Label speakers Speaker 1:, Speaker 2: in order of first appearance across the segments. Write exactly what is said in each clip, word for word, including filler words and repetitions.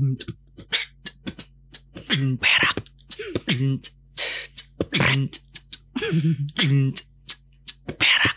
Speaker 1: Berak. Berak.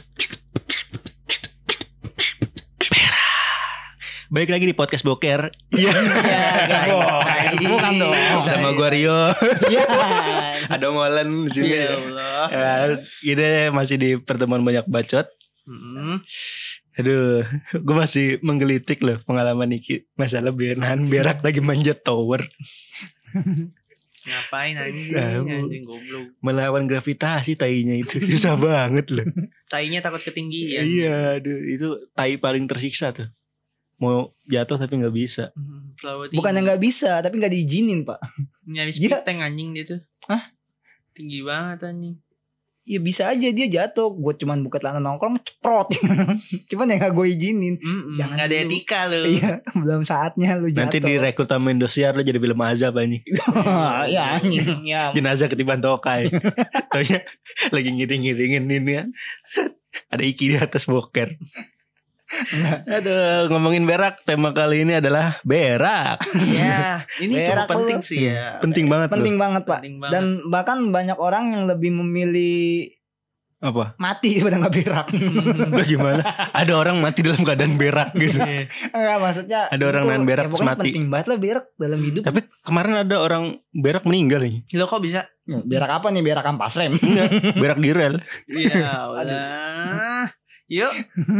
Speaker 1: Balik lagi di podcast Boker.
Speaker 2: Iya, bukan dong.
Speaker 1: Sama gue Rio.
Speaker 2: Iya.
Speaker 1: Ada Molen di sini.
Speaker 2: Ya Allah.
Speaker 1: Ya, ini masih di pertemuan banyak bacot.
Speaker 2: Hmm.
Speaker 1: Aduh, gue masih menggelitik loh pengalaman Niki masalah nahan berak lagi manjat tower.
Speaker 2: Ngapain anjing?
Speaker 1: Nah,
Speaker 2: Anjing goblok.
Speaker 1: Melawan gravitasi tainya itu susah banget loh.
Speaker 2: Tainya takut ketinggian.
Speaker 1: Iya, aduh, itu tai paling tersiksa tuh. Mau jatuh tapi nggak bisa.
Speaker 2: Hmm, selalu tinggi.
Speaker 3: Bukan yang nggak bisa, tapi nggak diizinin, Pak.
Speaker 2: Nyaris
Speaker 3: Dia-
Speaker 2: piteng anjing dia tuh.
Speaker 3: Hah?
Speaker 2: Tinggi banget anjing.
Speaker 3: Ya bisa aja dia jatuh. Gue cuman buka celana nongkrong ceprot. Cuman ya nggak gue izinin.
Speaker 2: Mm-mm,
Speaker 3: Jangan
Speaker 2: nggak ada
Speaker 3: dulu.
Speaker 2: etika lu.
Speaker 3: Iya, belum saatnya lu jatuh.
Speaker 1: Nanti direkrut sama Indosiar lo jadi film azab anjing.
Speaker 3: Ya anjing. Ya.
Speaker 1: Jenazah ketiban tokai. Taunya lagi ngiring-ngiringin ini kan. Ada Iki di atas boker. Aduh, ngomongin berak, tema kali ini adalah berak.
Speaker 2: Iya, ini
Speaker 3: Berak
Speaker 2: cukup penting
Speaker 3: lu.
Speaker 2: sih ya.
Speaker 1: Penting banget
Speaker 3: Penting
Speaker 1: loh.
Speaker 3: banget, Pak.
Speaker 2: Penting banget.
Speaker 3: Dan bahkan banyak orang yang lebih memilih
Speaker 1: Apa?
Speaker 3: mati daripada nggak berak.
Speaker 1: Bagaimana? Ada orang mati dalam keadaan berak gitu.
Speaker 3: Enggak, maksudnya
Speaker 1: Ada orang
Speaker 3: itu-
Speaker 1: nahan berak
Speaker 3: ya
Speaker 1: terus
Speaker 3: pokoknya
Speaker 1: mati.
Speaker 3: penting banget lah berak dalam hidup.
Speaker 1: Tapi kemarin ada orang berak meninggal nih.
Speaker 2: Lo kok bisa?
Speaker 3: Berak apa nih? Berak ampas rem.
Speaker 1: Enggak, berak di rel.
Speaker 2: Iya, udah. Yuk.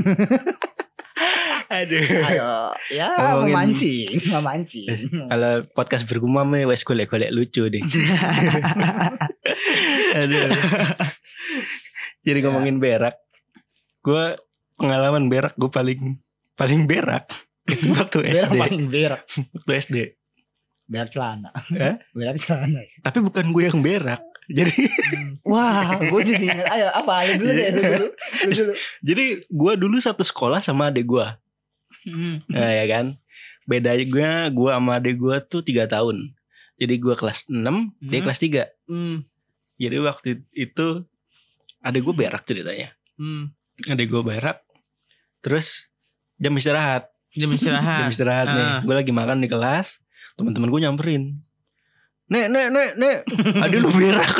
Speaker 1: Aduh.
Speaker 3: Ayo, ya
Speaker 1: Ngomongin-
Speaker 3: memancing, memancing.
Speaker 1: Kalau podcast bergumam nih wes golek-golek lucu deh. Aduh. Jadi ngomongin berak, gue pengalaman berak gue paling paling berak itu waktu
Speaker 3: Berak
Speaker 1: S D.
Speaker 3: paling berak.
Speaker 1: Waktu S D.
Speaker 3: Berak celana.
Speaker 1: Hah?
Speaker 3: Berak celana.
Speaker 1: Tapi bukan gue yang berak. Jadi
Speaker 3: Wah, gue jadi ingat. Ayo, apa? Ayo dulu deh, lu dulu. Lu dulu.
Speaker 1: jadi gue dulu satu sekolah sama adik gue.
Speaker 3: Hmm.
Speaker 1: Nah, ya kan. Bedanya gue gue sama adik gue tuh tiga tahun. Jadi gue kelas enam, dia
Speaker 2: Hmm.
Speaker 1: kelas tiga.
Speaker 2: Hmm.
Speaker 1: Jadi waktu itu adik gue berak ceritanya.
Speaker 2: Hmm.
Speaker 1: Adik gue berak. Terus jam istirahat.
Speaker 2: Jam istirahat.
Speaker 1: Jam istirahat nih.
Speaker 2: Ah.
Speaker 1: Gue lagi makan di kelas. Teman-teman gue nyamperin. Nek, nek, nek, nek. Adik lu berak.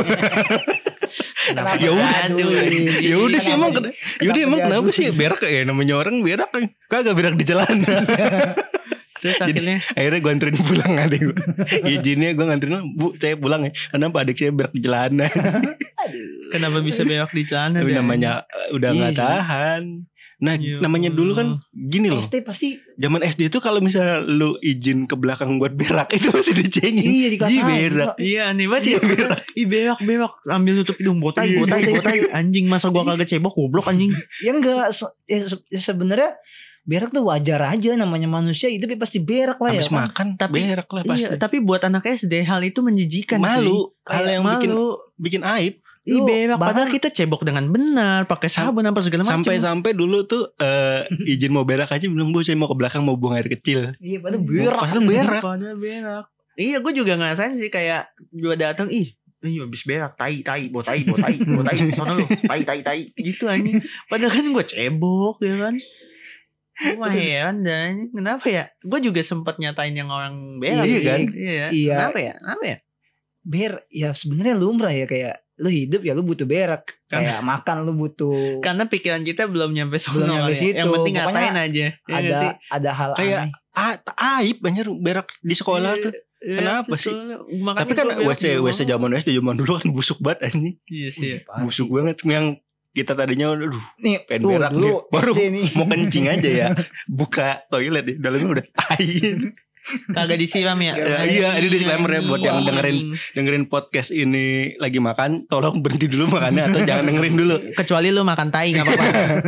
Speaker 3: Kenapa
Speaker 1: Ya udah,
Speaker 3: diaduin?
Speaker 1: Ya udah sih emang.
Speaker 3: Kenapa
Speaker 1: Ya udah emang kenapa
Speaker 3: diaduin?
Speaker 1: sih berak ya namanya orang berak kan. Kagak berak di celana.
Speaker 2: Terus
Speaker 1: Jadi-
Speaker 2: akhirnya
Speaker 1: Akhirnya gue anterin pulang adik gue. Izinnya gue nganterin, Bu saya pulang ya. Kenapa adik saya berak di celana.
Speaker 3: Aduh.
Speaker 2: kenapa bisa berak di celana?
Speaker 1: Tapi
Speaker 2: Dan?
Speaker 1: namanya uh, udah
Speaker 3: Iya
Speaker 1: gak
Speaker 3: sih.
Speaker 1: tahan. Nah
Speaker 2: Ya
Speaker 1: namanya dulu kan gini loh.
Speaker 3: S D pasti
Speaker 1: Zaman S D itu kalau misalnya lu izin ke belakang buat berak itu masih dicengin.
Speaker 3: iya dikatain.
Speaker 1: Ih, berak.
Speaker 2: Iya aneh banget ya. Ih berak berak ambil nutup hidung botai
Speaker 1: Iya.
Speaker 2: botai botai anjing masa gua kagak cebok goblok anjing.
Speaker 3: Ya enggak, se- ya se- ya sebenarnya berak tuh wajar aja, namanya manusia itu pasti berak lah ya.
Speaker 1: Habis
Speaker 3: kan?
Speaker 1: makan
Speaker 2: Tapi-
Speaker 1: berak lah pasti.
Speaker 2: Iya, tapi buat anak S D hal itu menjijikan.
Speaker 1: Malu.
Speaker 2: cuy.
Speaker 1: Hal
Speaker 2: Kayak
Speaker 1: yang bikin
Speaker 2: malu.
Speaker 1: bikin aib.
Speaker 2: Ih
Speaker 3: Lu
Speaker 2: berak
Speaker 3: bahkan-
Speaker 2: padahal kita cebok dengan benar, pakai sabun apa segala macam.
Speaker 1: Sampai-sampai dulu tuh eh, izin mau berak aja bilang, Bu saya mau ke belakang mau buang air kecil.
Speaker 3: Iya, padahal berak.
Speaker 1: Padahal berak.
Speaker 2: Padahal berak. Iya, gue juga ngerasain sih kayak gue datang ih Ih habis berak, tai, tai, botai, botai, botai, sono lu, tai, tai, tai, gitu anjing. Padahal kan gue cebok ya kan. Gue mah heran dan kenapa ya? Gue juga sempat nyatain yang orang berak.
Speaker 1: Iya kan?
Speaker 2: Iya.
Speaker 3: Iya.
Speaker 2: Kenapa ya? Kenapa ya?
Speaker 3: Ber ya sebenarnya lumrah ya, kayak lu hidup ya lu butuh berak, kayak makan lu butuh.
Speaker 2: Karena pikiran kita belum nyampe sono.
Speaker 3: Belum nyampe
Speaker 2: kali ya. Yang
Speaker 3: situ.
Speaker 2: penting
Speaker 3: Pokoknya
Speaker 2: ngatain aja. Iya
Speaker 3: ada
Speaker 2: nggak sih?
Speaker 3: ada hal
Speaker 1: Kayak
Speaker 3: aneh.
Speaker 1: Ah, aib banyak berak di sekolah
Speaker 2: Iya,
Speaker 1: tuh.
Speaker 2: iya,
Speaker 1: Kenapa
Speaker 2: terus
Speaker 1: sih?
Speaker 2: soalnya- makanya
Speaker 1: Tapi kan
Speaker 2: gua berak
Speaker 1: W C
Speaker 2: di
Speaker 1: W C
Speaker 2: rumah.
Speaker 1: zaman S D zaman dulu kan busuk banget anjing.
Speaker 2: Iya sih. ya.
Speaker 1: Busuk banget yang kita tadinya aduh
Speaker 3: Nih,
Speaker 1: pengen
Speaker 3: tuh,
Speaker 1: berak
Speaker 3: dulu
Speaker 1: nih. Baru
Speaker 3: S D nih.
Speaker 1: mau kencing aja ya. Buka toilet ya, dalamnya udah tai.
Speaker 2: Kagak disiram ya?
Speaker 1: Ya, iya, ini disclaimer ya buat yang
Speaker 2: Wah,
Speaker 1: dengerin.
Speaker 2: anjing.
Speaker 1: Dengerin podcast ini lagi makan, tolong berhenti dulu makannya atau jangan dengerin dulu.
Speaker 2: Kecuali lu makan tai gak apa-apa.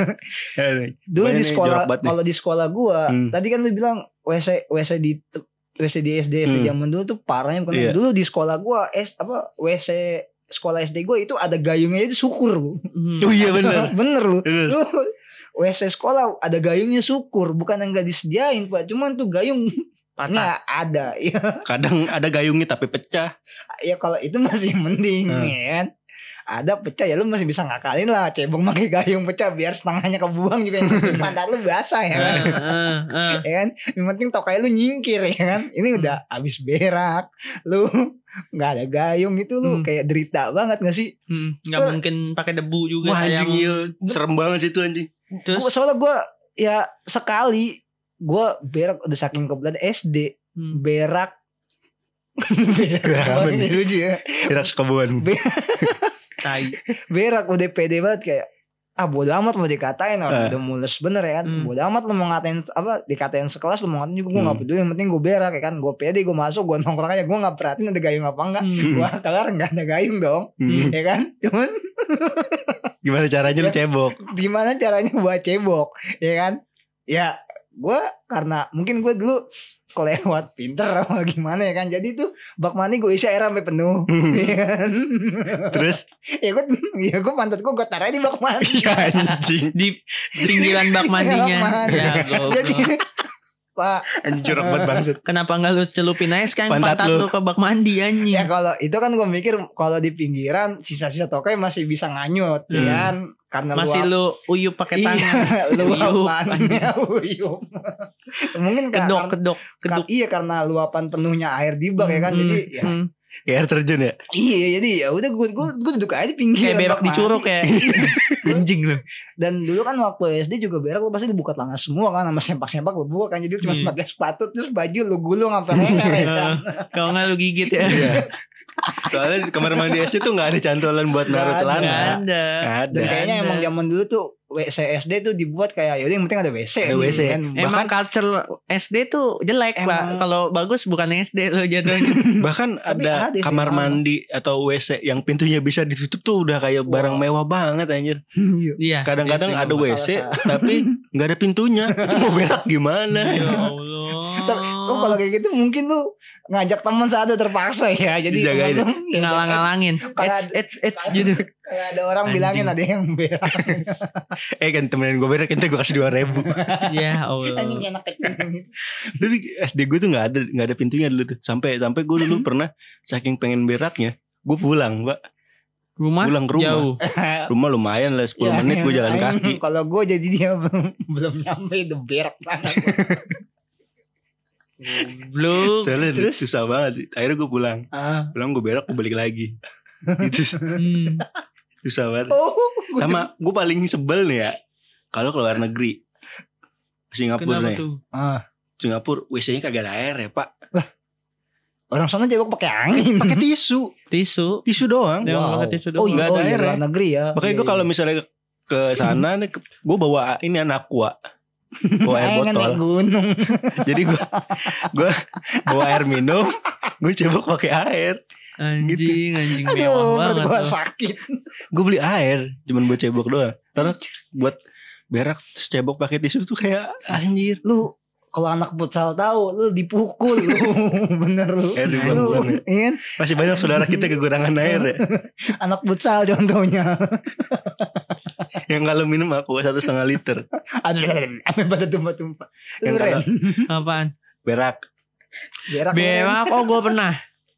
Speaker 3: Dulu
Speaker 1: Pokoknya
Speaker 3: di
Speaker 1: nih
Speaker 3: sekolah,
Speaker 1: jorok banget nih.
Speaker 3: kalau di sekolah gua,
Speaker 1: Hmm.
Speaker 3: tadi kan lu bilang W C W C di W C di S D S D
Speaker 1: Hmm.
Speaker 3: zaman dulu tuh parahnya bukan.
Speaker 1: Iya.
Speaker 3: Dulu di sekolah gua S apa W C sekolah S D gua itu ada gayungnya, itu syukur lu.
Speaker 2: Hmm.
Speaker 1: Oh iya benar.
Speaker 3: Bener lu.
Speaker 1: Bener.
Speaker 3: Lu W C sekolah ada gayungnya syukur, bukan yang gak disediain Pak. Cuman tuh gayung
Speaker 2: Patah.
Speaker 3: nggak ada. Ya,
Speaker 1: Kadang ada gayungnya tapi pecah.
Speaker 3: ya kalau itu masih mending
Speaker 1: Hmm.
Speaker 3: ya kan. Ada pecah ya lu masih bisa ngakalin lah, cebong pakai gayung pecah biar setengahnya kebuang juga yang penting pantat lu basah ya kan.
Speaker 2: Heeh, heeh.
Speaker 3: Ya kan, yang penting tokai lu nyingkir ya kan. Ini udah abis berak, lu nggak ada gayung itu lu
Speaker 2: Hmm.
Speaker 3: kayak derita banget gak sih?
Speaker 2: Hmm, nggak mungkin pakai debu juga
Speaker 1: Wah
Speaker 2: kayak
Speaker 1: anjing iya, serem banget sih itu anjing.
Speaker 2: terus
Speaker 3: Gua, soalnya gue ya sekali gue berak udah saking kebetulan S D
Speaker 2: hmm.
Speaker 3: berak.
Speaker 1: Berak apa
Speaker 3: Ini
Speaker 1: nih?
Speaker 3: lucu ya.
Speaker 1: Berak sekebun.
Speaker 3: Be-
Speaker 2: Tai.
Speaker 3: Berak udah pede banget kayak ah bodo amat mau dikatain orang
Speaker 1: Eh.
Speaker 3: udah mules bener ya kan.
Speaker 2: Hmm.
Speaker 3: Bodo amat lu mau ngatain apa dikatain sekelas lu mau ngatain juga gue nggak
Speaker 1: Hmm.
Speaker 3: peduli, yang penting gue berak ya kan. Gue pede gue masuk gue nongkrong aja, gue nggak perhatiin ada gayung apa enggak.
Speaker 2: Hmm.
Speaker 3: Wah kelar nggak ada gayung dong,
Speaker 1: Hmm.
Speaker 3: ya kan. Cuman
Speaker 1: Gimana caranya lu cebok?
Speaker 3: gimana caranya buat cebok, ya kan? Ya gue karena mungkin gue dulu kelewat pinter apa gimana ya kan, jadi tuh bak mandi gue isi air sampai penuh. Ya kan?
Speaker 1: Terus
Speaker 3: ya gue ya gue pantat gue gue taruh di bak mandi.
Speaker 1: ya anjing.
Speaker 2: Di pinggiran bak mandinya.
Speaker 3: Mandi.
Speaker 2: Ya
Speaker 3: Jadi
Speaker 2: goblok.
Speaker 3: Pak,
Speaker 1: Anjing jorok banget bangsat.
Speaker 2: Kenapa nggak lu celupin aja sekarang
Speaker 1: Pantat
Speaker 2: pantat,
Speaker 1: lu.
Speaker 2: lu ke bak mandi anjing.
Speaker 3: ya kalau itu kan gue mikir kalau di pinggiran sisa-sisa tokai masih bisa nganyut, ya
Speaker 1: Hmm.
Speaker 3: kan? Karena
Speaker 2: Masih
Speaker 3: luap-
Speaker 2: lu uyup pakai
Speaker 3: Iya,
Speaker 2: tangan.
Speaker 3: luapannya uyup. Mungkin ka-
Speaker 2: Kedok
Speaker 3: karena-
Speaker 2: kedok kedok.
Speaker 3: Ka- iya karena luapan penuhnya air di bak ya kan,
Speaker 2: Hmm,
Speaker 3: jadi ya,
Speaker 2: hmm.
Speaker 1: Ya air terjun ya.
Speaker 3: iya jadi ya udah gue gue gue duduk aja di pinggiran
Speaker 2: Kayak berak
Speaker 3: bak
Speaker 2: di curug
Speaker 3: mandi.
Speaker 2: ya. Anjing lu.
Speaker 3: Dan dulu kan waktu S D juga berak lu pasti dibuka celana semua kan, sama sempak-sempak lu buka kan, jadi cuma
Speaker 2: Iya.
Speaker 3: pakai sepatu terus baju lu gulung sampai leher ya kan.
Speaker 2: Kalau nggak lu gigit ya.
Speaker 1: Iya. Soalnya di kamar mandi S D tuh gak ada cantolan buat naruh
Speaker 3: Nggak ada.
Speaker 1: celana.
Speaker 2: Nggak ada.
Speaker 1: Nggak ada.
Speaker 3: Dan kayaknya
Speaker 2: ada.
Speaker 3: emang zaman dulu tuh W C S D tuh dibuat kayak yaudah yang penting ada W C.
Speaker 1: Ada W C.
Speaker 3: Kan.
Speaker 2: Emang culture S D tuh jelek, Pak.
Speaker 3: Emang-
Speaker 2: Kalau bagus bukan S D lo jatuhnya.
Speaker 1: Bahkan
Speaker 3: Tapi
Speaker 1: ada
Speaker 3: ada sih,
Speaker 1: kamar
Speaker 3: emang.
Speaker 1: mandi atau W C yang pintunya bisa ditutup tuh udah kayak barang
Speaker 3: Wow.
Speaker 1: mewah banget anjir.
Speaker 3: Iya.
Speaker 2: Iya.
Speaker 1: Kadang-kadang
Speaker 2: S D
Speaker 1: ada
Speaker 2: nggak
Speaker 1: W C
Speaker 3: Salah-salah.
Speaker 1: tapi nggak ada pintunya. Itu mau berak gimana?
Speaker 2: Ya Allah.
Speaker 3: Tapi lu kalau kayak gitu mungkin lu ngajak teman satu terpaksa ya. Jadi
Speaker 1: Dijagain.
Speaker 3: temen lu ya,
Speaker 2: ngalang-ngalangin.
Speaker 3: Kayak
Speaker 2: It's it's it's gitu.
Speaker 3: kayak ada orang
Speaker 2: Anjing.
Speaker 3: bilangin ada yang berak.
Speaker 1: Eh kan temenin gue berak itu gue kasih dua ribu.
Speaker 2: Ya Allah.
Speaker 3: Anjing enak kecil gitu.
Speaker 1: Dulu S D gue tuh nggak ada nggak ada pintunya dulu tuh. Sampai sampai gue dulu pernah saking pengen beraknya, gue pulang, Pak.
Speaker 2: Rumah
Speaker 1: Pulang ke rumah.
Speaker 2: jauh.
Speaker 1: Rumah lumayan lah sepuluh
Speaker 3: Ya,
Speaker 1: menit gue jalan
Speaker 3: anjing,
Speaker 1: kaki.
Speaker 3: Kalau gue jadi dia belum belum nyampe udah berak banget.
Speaker 2: Belum.
Speaker 1: Soalnya
Speaker 3: Terus?
Speaker 1: susah banget. Akhirnya gue pulang.
Speaker 3: Ah.
Speaker 1: Pulang gue berak, gue balik lagi. Itu
Speaker 2: Hmm.
Speaker 1: susah banget.
Speaker 3: Oh, gua
Speaker 1: Sama gue paling sebel nih ya, kalau ke luar negeri, Singapura
Speaker 2: Kenapa
Speaker 1: nih.
Speaker 2: tuh?
Speaker 3: Ah.
Speaker 1: Singapura W C-nya kagak ada air ya Pak.
Speaker 3: Orang sana cebok pakai angin.
Speaker 1: Pakai tisu,
Speaker 2: Tisu.
Speaker 1: tisu doang.
Speaker 2: Dia
Speaker 3: Wow.
Speaker 2: pakai tisu
Speaker 3: Oh
Speaker 2: doang.
Speaker 3: iya,
Speaker 1: Nggak
Speaker 3: oh
Speaker 1: ada
Speaker 3: iya
Speaker 1: air
Speaker 3: luar
Speaker 1: ya.
Speaker 3: negeri ya.
Speaker 1: Makanya
Speaker 3: Iya,
Speaker 1: gue kalau
Speaker 3: iya.
Speaker 1: misalnya ke, ke sana nih, gue bawa ini anak aqua, bawa air
Speaker 3: Pengen naik
Speaker 1: botol.
Speaker 3: gunung.
Speaker 1: Jadi gue gue bawa air minum, gue cebok pakai air.
Speaker 2: Anjing, anjing mewah
Speaker 3: Aduh, perut
Speaker 2: banget
Speaker 3: gua
Speaker 2: tuh.
Speaker 3: sakit.
Speaker 1: Gue beli air, cuman buat cebok doang. Karena buat berak terus cebok pakai tisu tuh kayak anjir.
Speaker 3: Lu kalau anak futsal tahu lu dipukul lu. Bener lu.
Speaker 1: Eh, di
Speaker 3: Lu,
Speaker 1: bangsa nih.
Speaker 3: iya kan?
Speaker 1: Masih banyak saudara kita kekurangan air ya.
Speaker 3: Anak futsal contohnya.
Speaker 1: Yang kalau minum aku satu setengah liter.
Speaker 3: Aduh, sampai pada tumpah-tumpah. Lu
Speaker 1: Yang
Speaker 3: Ren,
Speaker 1: kalau
Speaker 2: Apaan?
Speaker 1: berak.
Speaker 3: berak. lu, Ren.
Speaker 2: Berak, oh gue pernah.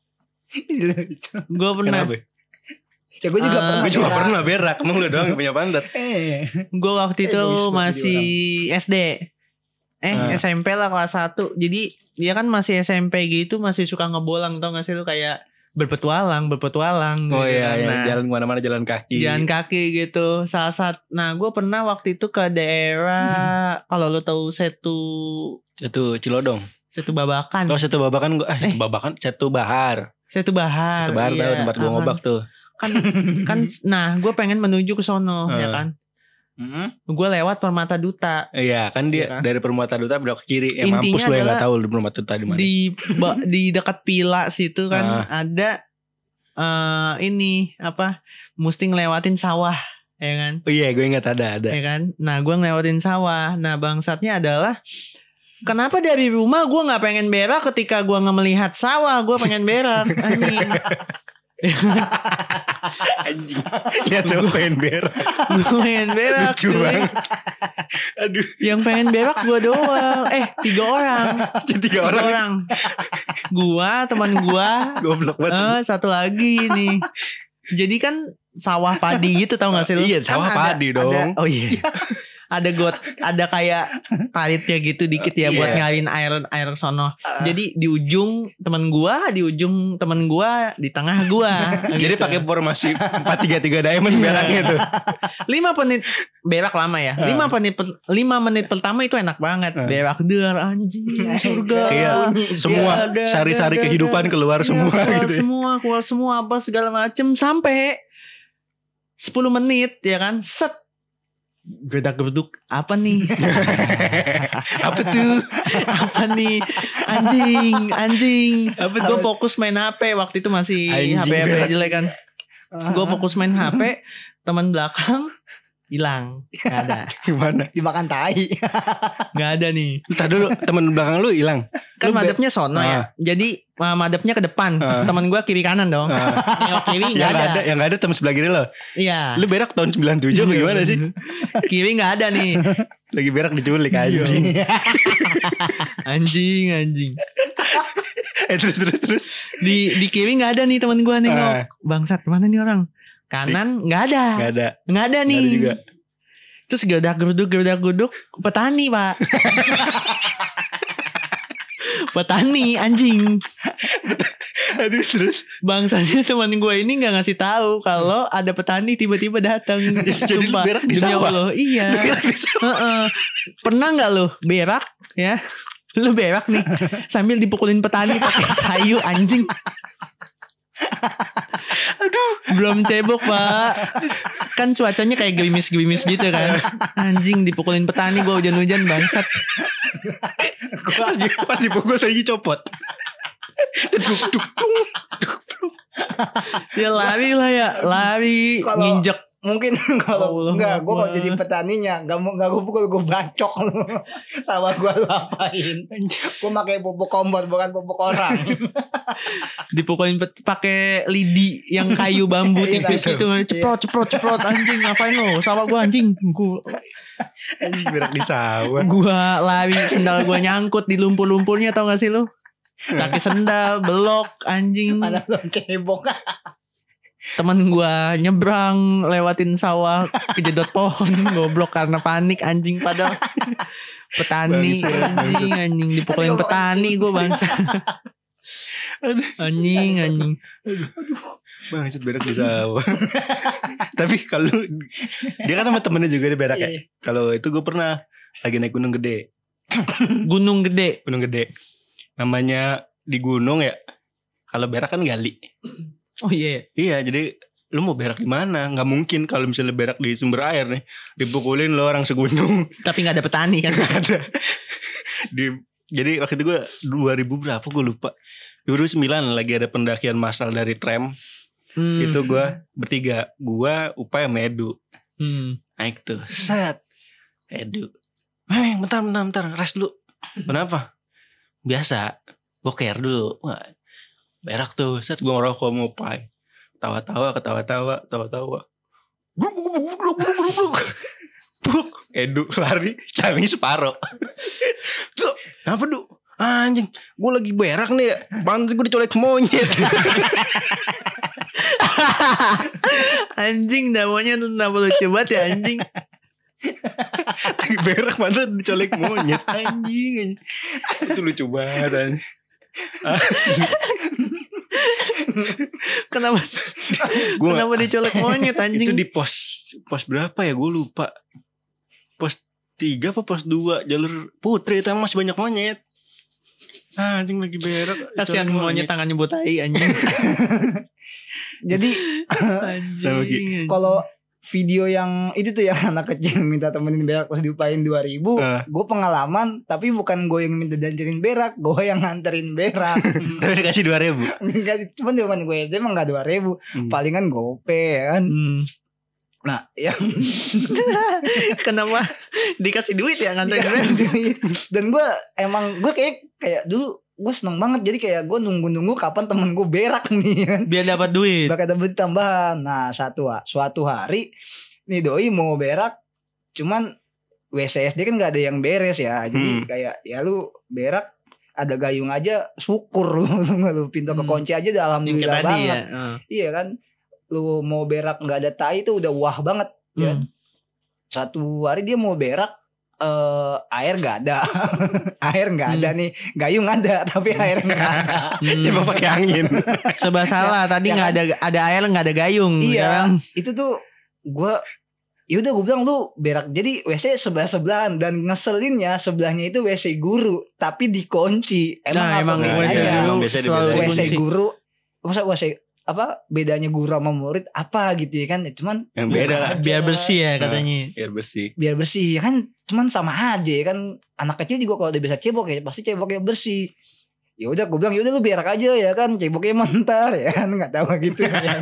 Speaker 3: Lucu.
Speaker 2: Gue pernah.
Speaker 1: Kenapa?
Speaker 3: Ya gue juga
Speaker 2: Ah,
Speaker 3: pernah.
Speaker 1: Gue juga
Speaker 3: berak.
Speaker 1: pernah berak. Emang lu doang yang punya pantat.
Speaker 3: Eh.
Speaker 2: Gue waktu
Speaker 3: Eh,
Speaker 2: itu
Speaker 3: bagus banget
Speaker 2: masih S D. Eh
Speaker 1: Ah.
Speaker 2: S M P lah kelas satu. Jadi dia kan masih S M P gitu, masih suka ngebolang, tau gak sih lu, kayak berpetualang, berpetualang.
Speaker 1: Oh
Speaker 2: gitu
Speaker 1: iya,
Speaker 2: kan.
Speaker 1: yang
Speaker 2: Nah,
Speaker 1: jalan kemana-mana jalan kaki.
Speaker 2: jalan kaki gitu. Saat saat. Nah gue pernah waktu itu ke daerah kalau lu tahu Setu
Speaker 1: Satu Cilodong.
Speaker 2: Setu Babakan.
Speaker 1: Oh satu babakan gue. Ah
Speaker 2: Eh.
Speaker 1: satu babakan. Satu bahar.
Speaker 2: Setu Bahar.
Speaker 1: Satu bahar
Speaker 2: iya.
Speaker 1: tahu tempat gue
Speaker 2: Ah,
Speaker 1: ngobak tuh.
Speaker 2: Kan kan nah gue pengen menuju ke sono
Speaker 1: Ah.
Speaker 2: ya kan.
Speaker 3: Hmm?
Speaker 2: Gue lewat Permata Duta.
Speaker 1: Iya kan dia
Speaker 2: Iya kan?
Speaker 1: dari Permata Duta belok ke kiri. Ya
Speaker 2: Intinya
Speaker 1: mampus lu yang
Speaker 2: adalah
Speaker 1: gak tahu di Permata Duta di mana.
Speaker 2: Di ba- di dekat Pila situ kan
Speaker 1: Ah.
Speaker 2: ada eh ini apa? Mesti ngelewatin sawah ya kan.
Speaker 1: Oh iya gue ingat ada ada.
Speaker 2: Ya kan. Nah gue ngelewatin sawah. Nah bangsatnya adalah kenapa dari rumah gue nggak pengen berak ketika gue nggak melihat sawah, gue pengen berak. Anjing.
Speaker 1: Anjing. Lihat tuh pengen berak.
Speaker 2: Gue pengen berak.
Speaker 1: Lucu
Speaker 2: cuy.
Speaker 1: banget. Aduh.
Speaker 2: Yang pengen berak gue doang. Eh tiga orang.
Speaker 1: Tiga
Speaker 2: Tiga
Speaker 1: orang.
Speaker 2: orang. Gua, teman gua,
Speaker 1: Goblok banget.
Speaker 2: eh satu lagi nih. Jadi kan sawah padi gitu tau gak sih lu?
Speaker 1: Iya,
Speaker 2: Kan
Speaker 1: sawah
Speaker 2: ada-
Speaker 1: padi dong.
Speaker 2: ada- oh iya. Ada got, ada kayak paritnya gitu dikit ya buat
Speaker 1: Iya.
Speaker 2: ngalirin air air sono. Jadi di ujung teman gua, di ujung teman gua, di tengah gua.
Speaker 1: Jadi
Speaker 2: gitu.
Speaker 1: pakai formasi empat tiga tiga diamond beraknya tuh.
Speaker 2: lima menit berak lama ya. lima menit per- lima menit pertama itu enak banget.
Speaker 1: Ah.
Speaker 2: Berak der anjing surga.
Speaker 1: Iya, semua
Speaker 2: Ada,
Speaker 1: sari-sari
Speaker 2: ada,
Speaker 1: kehidupan
Speaker 2: ada.
Speaker 1: keluar
Speaker 2: Iya,
Speaker 1: semua
Speaker 2: keluar
Speaker 1: gitu. ya.
Speaker 2: semua, keluar semua apa segala macem sampai sepuluh menit ya kan. Set. Gerdak-gerduk apa nih?
Speaker 1: Apa tuh?
Speaker 2: apa nih? Anjing, anjing.
Speaker 1: Apa
Speaker 2: Gue
Speaker 1: tuh?
Speaker 2: fokus main H P waktu itu masih
Speaker 1: Anjing
Speaker 2: H P H P
Speaker 1: berak.
Speaker 2: jelek kan. Gue fokus main H P, teman belakang hilang, nggak ada,
Speaker 1: Gimana?
Speaker 3: dimakan tai.
Speaker 2: nggak ada nih.
Speaker 1: Entar dulu teman belakang lu hilang.
Speaker 2: Kan
Speaker 1: Lu be-
Speaker 2: madepnya sono ya, jadi uh, madepnya ke depan,
Speaker 1: Ah.
Speaker 2: teman gue kiri kanan dong.
Speaker 1: Ah.
Speaker 2: Nengok kiri nggak
Speaker 1: yang
Speaker 2: ada.
Speaker 1: ada. yang nggak ada teman sebelah kiri lo.
Speaker 2: Iya.
Speaker 1: Lu berak tahun sembilan puluh tujuh apa gimana sih?
Speaker 2: Kiri nggak ada nih.
Speaker 1: Lagi berak diculik
Speaker 2: Iya.
Speaker 1: anjing.
Speaker 2: Anjing, anjing.
Speaker 1: eh terus terus terus.
Speaker 2: Di di kiri nggak ada nih teman gue nengok.
Speaker 1: Ah.
Speaker 2: Bangsat kemana nih orang? Kanan nggak ada,
Speaker 1: Enggak ada.
Speaker 2: nggak ada
Speaker 1: Nggak
Speaker 2: nih.
Speaker 1: ada juga.
Speaker 2: Terus gerdak geruduk gerdak geruduk petani pak. Petani anjing.
Speaker 1: Aduh terus.
Speaker 2: Bangsanya teman gue ini nggak ngasih tahu kalau ada petani tiba-tiba datang.
Speaker 1: Jadi lu
Speaker 2: Sumpah,
Speaker 1: berak di
Speaker 2: demi
Speaker 1: sawah?
Speaker 2: Allah. Iya.
Speaker 1: Lu berak di sawah?
Speaker 2: Heeh. Pernah nggak lo berak ya? Lu berak nih sambil dipukulin petani pakai kayu anjing. Aduh, belum cebok pak. Kan cuacanya kayak gerimis-gerimis gitu kan. Anjing dipukulin petani gue hujan-hujan bangsat.
Speaker 1: Pas dipukul lagi copot. Duk duk dung, duk, duk.
Speaker 2: Ya lari lah ya, lari
Speaker 3: Kalau-
Speaker 2: nginjek.
Speaker 3: Mungkin kalau
Speaker 2: Allah
Speaker 3: enggak, gue kalau
Speaker 2: Akbar.
Speaker 3: jadi petaninya nggak mau nggak gue pukul, gue bacok lu. Sawah gue lu apain? Gue pakai pupuk kompor bukan pupuk orang.
Speaker 2: Dipukulin pet- pakai lidi yang kayu bambu
Speaker 3: Iya,
Speaker 2: tipis
Speaker 3: tahu.
Speaker 2: gitu, ceprot ceprot ceprot anjing ngapain lo? Sawah gua anjing. Gua,
Speaker 1: Anjing berak di sawah.
Speaker 2: gua lari sendal gua nyangkut di lumpur-lumpurnya tau gak sih lu? Kaki sendal belok anjing.
Speaker 3: Mana belum cebok.
Speaker 2: Temen gua nyebrang lewatin sawah kejedot pohon goblok karena panik anjing padahal petani
Speaker 1: Bangsat,
Speaker 2: anjing anjing dipukulin
Speaker 3: Aduh,
Speaker 2: petani gua bangsa. Anjing anjing.
Speaker 1: Bangsat berak di sawah. Tapi kalau dia kan sama temennya juga dia berak ya.
Speaker 3: Iya.
Speaker 1: Kalau itu gue pernah lagi naik gunung gede.
Speaker 2: Gunung gede.
Speaker 1: Gunung gede. Namanya di gunung ya. Kalau berak kan gali.
Speaker 2: Oh iya.
Speaker 1: Iya, jadi lu mau berak di mana? Nggak mungkin kalau misalnya berak di sumber air nih, dipukulin lo orang segunung.
Speaker 2: Tapi nggak ada petani kan?
Speaker 1: Nggak ada. Di jadi waktu itu gue dua ribu berapa gue lupa. dua ribu sembilan lagi ada pendakian massal dari Trem.
Speaker 2: Hmm.
Speaker 1: Itu gue bertiga, gue Upay sama Edu.
Speaker 2: Hmm.
Speaker 1: Naik tuh, set. Edu, "Eh, bentar, bentar, bentar, rest dulu." Kenapa? Biasa, boker dulu. Wah, berak tuh, set gue ngerokok sama Upay. Tawa-tawa, ketawa-tawa, tawa-tawa. Bruk, bruk, bruk, bruk, bruk, bruk, bruk. Bruk. Edu lari, cari separuh. So, kenapa Du? Anjing, gue lagi berak nih ya. Pantas gue dicolek monyet.
Speaker 2: Anjing namanya tuh kenapa lucu banget ya anjing.
Speaker 1: Lagi berak pantas dicolek monyet. Anjing, anjing. Itu lucu banget anjing. Asli.
Speaker 2: Kenapa
Speaker 1: Gua
Speaker 2: kenapa dicolek monyet
Speaker 1: itu
Speaker 2: anjing?
Speaker 1: di pos pos berapa ya gue lupa. Pos tiga apa pos dua jalur Putri itu masih banyak monyet. Ah, anjing lagi berak.
Speaker 2: Kasihan
Speaker 1: dicolek
Speaker 2: monyet tangannya buat tai anjing.
Speaker 3: Jadi
Speaker 2: Anjing.
Speaker 3: kalau video yang itu tuh yang anak kecil minta temenin berak terus diupain dua ribu,
Speaker 1: Ah.
Speaker 3: gue pengalaman tapi bukan gue yang minta dancerin berak, gue yang nganterin berak.
Speaker 1: Tapi dikasih dua ribu.
Speaker 3: Enggak, cuman cuman gue dia emang gak dua ribu,
Speaker 1: Hmm.
Speaker 3: palingan gope ya kan.
Speaker 2: Hmm.
Speaker 3: Nah, yang
Speaker 2: Kenapa dikasih duit ya nganterin
Speaker 3: dikasih
Speaker 2: berak?
Speaker 3: duit. Dan gue emang gue kayak kayak dulu gue seneng banget, jadi kayak gue nunggu-nunggu kapan temen gue berak nih kan.
Speaker 2: Biar dapat duit.
Speaker 3: Bakal dapat tambahan. Nah, satu suatu hari nih doi mau berak, cuman W C S D kan nggak ada yang beres ya. Jadi
Speaker 1: Hmm.
Speaker 3: kayak ya lu berak ada gayung aja syukur lu, lu pintu
Speaker 2: Hmm.
Speaker 3: kekunci aja udah
Speaker 2: Yang kayak
Speaker 3: alhamdulillah
Speaker 2: tadi
Speaker 3: banget.
Speaker 2: ya. Heeh.
Speaker 3: Iya kan. lu mau berak nggak ada tai itu udah wah banget ya.
Speaker 2: Hmm.
Speaker 3: Satu hari dia mau berak eh air nggak ada. Air nggak ada nih, gayung ada tapi air nggak ada.
Speaker 2: Hmm.
Speaker 1: Coba pakai angin.
Speaker 2: Serba salah tadi
Speaker 3: ya
Speaker 2: nggak
Speaker 3: kan?
Speaker 2: ada ada air nggak ada gayung.
Speaker 3: Iya,
Speaker 2: kan?
Speaker 3: itu tuh gue, ya udah gue bilang lu berak. Jadi W C sebelah sebelahan dan ngeselinnya sebelahnya itu W C guru tapi dikunci. Emang
Speaker 2: Nah,
Speaker 3: apa
Speaker 2: emang
Speaker 1: W C
Speaker 3: bedanya?
Speaker 1: guru
Speaker 2: guru
Speaker 1: biasa
Speaker 2: selalu
Speaker 1: dibedain.
Speaker 3: W C
Speaker 2: dikunci.
Speaker 3: guru, masa W C apa bedanya guru sama murid apa gitu ya kan? Ya, cuman
Speaker 1: Yang beda lah.
Speaker 3: aja.
Speaker 2: Biar bersih ya
Speaker 1: Nah.
Speaker 2: katanya.
Speaker 1: Biar bersih.
Speaker 3: biar bersih ya kan, cuman sama aja ya kan. Anak kecil juga kalau udah bisa cebok ya pasti ceboknya bersih. Ya udah gue bilang ya udah lu berak aja ya kan, ceboknya mentar ya kan, nggak tahu gitu ya kan.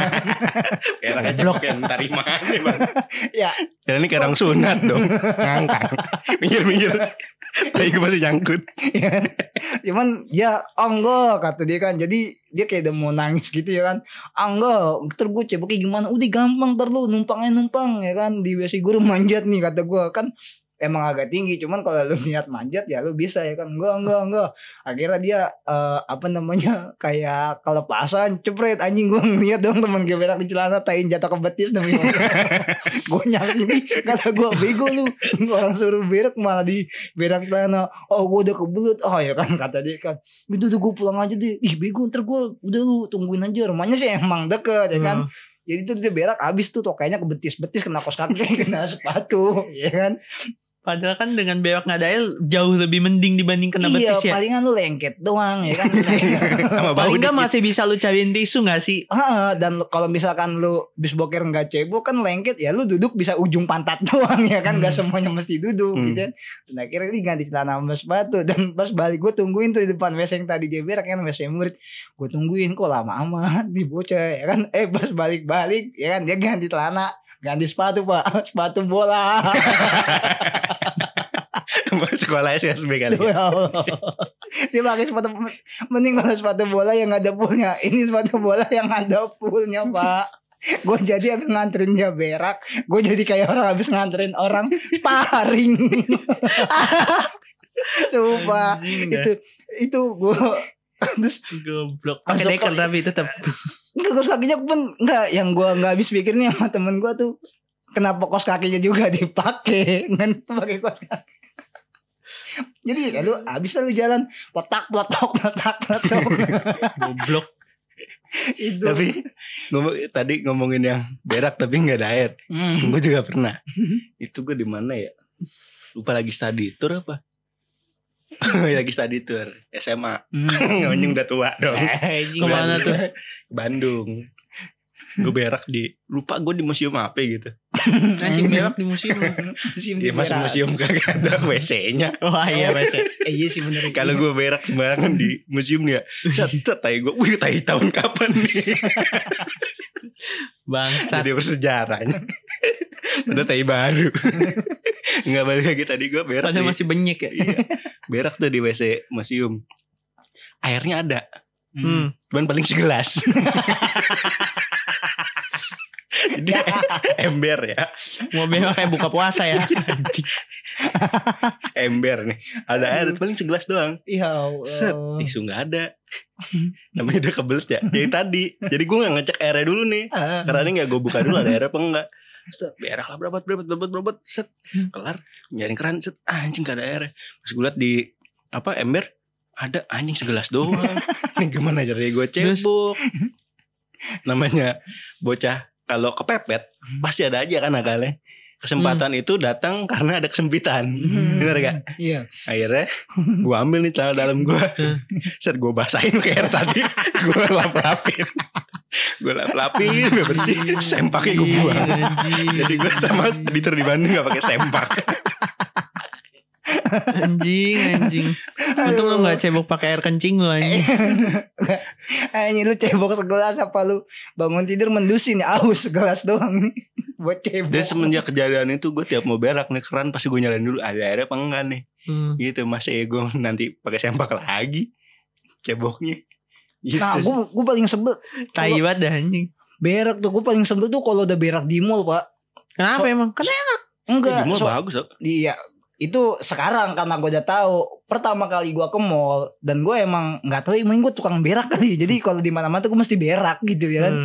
Speaker 1: Kayak aja blok yang terima aja bang.
Speaker 3: Ya.
Speaker 1: Jadi ini karang sunat dong. Ngangkang. Minggir-minggir. Tapi gue masih nyangkut.
Speaker 3: Ya kan? Cuman ya oh enggak kata dia kan. Jadi dia kayak udah mau nangis gitu ya kan. Ah enggak, ntar gue ceboknya gimana? Udah gampang, ntar lu numpangnya numpang ya kan. Di W C guru manjat nih kata gue kan. Emang agak tinggi, cuman kalau lu niat manjat ya lu bisa ya kan. Enggak enggak enggak. Akhirnya dia eh, apa namanya kayak kelepasan, cepret anjing. Gue ngeliat dong temen gue berak di celana, tain jatuh ke betis demi gue nyari ini, kata gue bego lu, orang suruh berak malah di berak celana. Oh gue udah kebelut. Oh ya kan kata dia kan, itu tuh gue pulang aja deh. Ih bego, ntar gue udah lu tungguin aja, rumahnya sih emang deket ya kan.
Speaker 2: Hmm.
Speaker 3: Jadi tuh dia berak abis tuh kayaknya ke betis-betis, kena kos kaki, kena sepatu ya kan.
Speaker 2: Padahal kan dengan berak nggak ada air jauh lebih mending dibanding kena
Speaker 3: Iya
Speaker 2: betis ya.
Speaker 3: palingan lu lengket doang ya kan.
Speaker 1: Sama bau
Speaker 2: Paling nggak
Speaker 1: dikit.
Speaker 2: masih bisa lu cariin tisu nggak sih?
Speaker 3: Ah, dan kalau misalkan lu bis boker nggak cebok kan lengket ya, lu duduk bisa ujung pantat doang ya kan, nggak
Speaker 2: Hmm.
Speaker 3: semuanya mesti duduk
Speaker 1: Hmm.
Speaker 3: gitu kan. Dan akhirnya dia ganti celana sama sepatu, dan pas balik gue tungguin tuh di depan W C yang tadi dia berak kan, W C murid. Gue tungguin kok lama amat di bocah ya kan. Eh pas balik-balik ya kan dia ganti celana, ganti sepatu pak, sepatu bola.
Speaker 1: Sekolah S S B kali
Speaker 3: Tuh,
Speaker 1: ya.
Speaker 3: ya Allah. Dia pakai sepatu, mending kalau sepatu bola yang nggak ada poolnya. Ini sepatu bola yang ada poolnya pak. Gue jadi abis nganterin dia berak, gue jadi kayak orang habis nganterin orang sparring. Sumpah
Speaker 2: Anjing dah.
Speaker 3: itu itu gue terus
Speaker 2: Goblok.
Speaker 3: Masuk
Speaker 2: Pakai deker
Speaker 3: kok.
Speaker 2: tapi tetap.
Speaker 3: enggak, kos kakinya pun enggak, yang gue nggak habis pikir nih sama temen gue tuh, kenapa kos kakinya juga dipakai kan, pakai kos kaki. Jadi ya lu abis lu jalan potak potok potak potok.
Speaker 2: Goblok.
Speaker 3: Itu
Speaker 1: Tapi ngomong, tadi ngomongin yang berak tapi nggak ada air.
Speaker 3: Hmm.
Speaker 1: Gue juga pernah. Itu gue di mana ya? Lupa lagi study tour apa? Lagi study tour S M A. Ngonyong udah tua dong.
Speaker 2: Kemana tuh?
Speaker 1: Bandung. Gue berak di, lupa gue di museum apa gitu.
Speaker 2: Anjing berak di museum.
Speaker 3: Museum
Speaker 1: Ya masuk
Speaker 3: berak.
Speaker 1: museum kagak ada W C-nya.
Speaker 2: Wah iya Mas.
Speaker 3: Eh, iya sih bener.
Speaker 1: Kalau gue berak sembarangan di museum nih ya, set tai gue, wih tai tahun kapan nih?
Speaker 2: Bangsat.
Speaker 1: Jadi bersejarahnya. Udah tai baru. Enggak balik lagi, tadi gue berak.
Speaker 2: Padahal
Speaker 1: di-
Speaker 2: masih benyek ya.
Speaker 1: Iya. Berak tuh di W C museum. Airnya ada,
Speaker 2: Hmm.
Speaker 1: cuman paling segelas. Jadi ember ya,
Speaker 2: Mau berak kayak buka puasa ya. Anjing.
Speaker 1: ember nih. Ada air paling segelas doang.
Speaker 3: Ya Allah.
Speaker 1: Set, tisu nggak ada. Namanya udah kebelet ya. Jadi tadi, jadi gue nggak ngecek airnya dulu nih.
Speaker 3: Ah.
Speaker 1: Karena ini nggak gue buka dulu ada airnya apa enggak. Set, berak lah berapa berapa berapa berapa. Set, kelar. Nyaring keran. Set, ah, anjing gak ada airnya. Pas gue liat di apa ember, ada anjing segelas doang. Ini gimana caranya gue cebok? Namanya bocah kalau kepepet pasti ada aja kan akalnya. Kesempatan itu datang karena ada kesempitan.
Speaker 3: Hmm.
Speaker 1: Bener gak?
Speaker 3: Iya.
Speaker 1: Akhirnya gue ambil nih celana dalam gue. Set, gue basahin pakai air tadi. Gue lap-lapin. Gue lap-lapin biar bersih. Sempaknya gue buang.
Speaker 2: Anjing.
Speaker 1: Jadi gue sama editor di Bandung gak pakai sempak.
Speaker 2: Anjing, anjing. Untung lu gak cebok pakai air kencing lu anjing.
Speaker 3: Anjing lu cebok segelas apa lu bangun tidur mendusin ya, aus segelas doang ini buat cebok.
Speaker 1: Dan semenjak kejadian itu gue tiap mau berak nih keran pasti gue nyalain dulu ada airnya apa enggak nih.
Speaker 2: Hmm.
Speaker 1: Gitu, masa ya gue nanti pakai sempak lagi ceboknya. Gitu.
Speaker 3: Nah, gue gue paling sebel
Speaker 2: Tai banget dah anjing.
Speaker 3: berak tuh. Gue paling sebel tuh kalau udah berak di mall, Pak.
Speaker 2: Kenapa
Speaker 3: So-
Speaker 2: emang? Kenapa?
Speaker 3: Enggak.
Speaker 1: Di mall
Speaker 3: so-
Speaker 1: bagus loh.
Speaker 3: Iya, itu sekarang karena gue udah tahu. Pertama kali gue ke mall dan gue emang nggak tahu, emang gue tukang berak kali. Jadi kalau di mana-mana tuh gue mesti berak gitu ya kan.
Speaker 2: Hmm.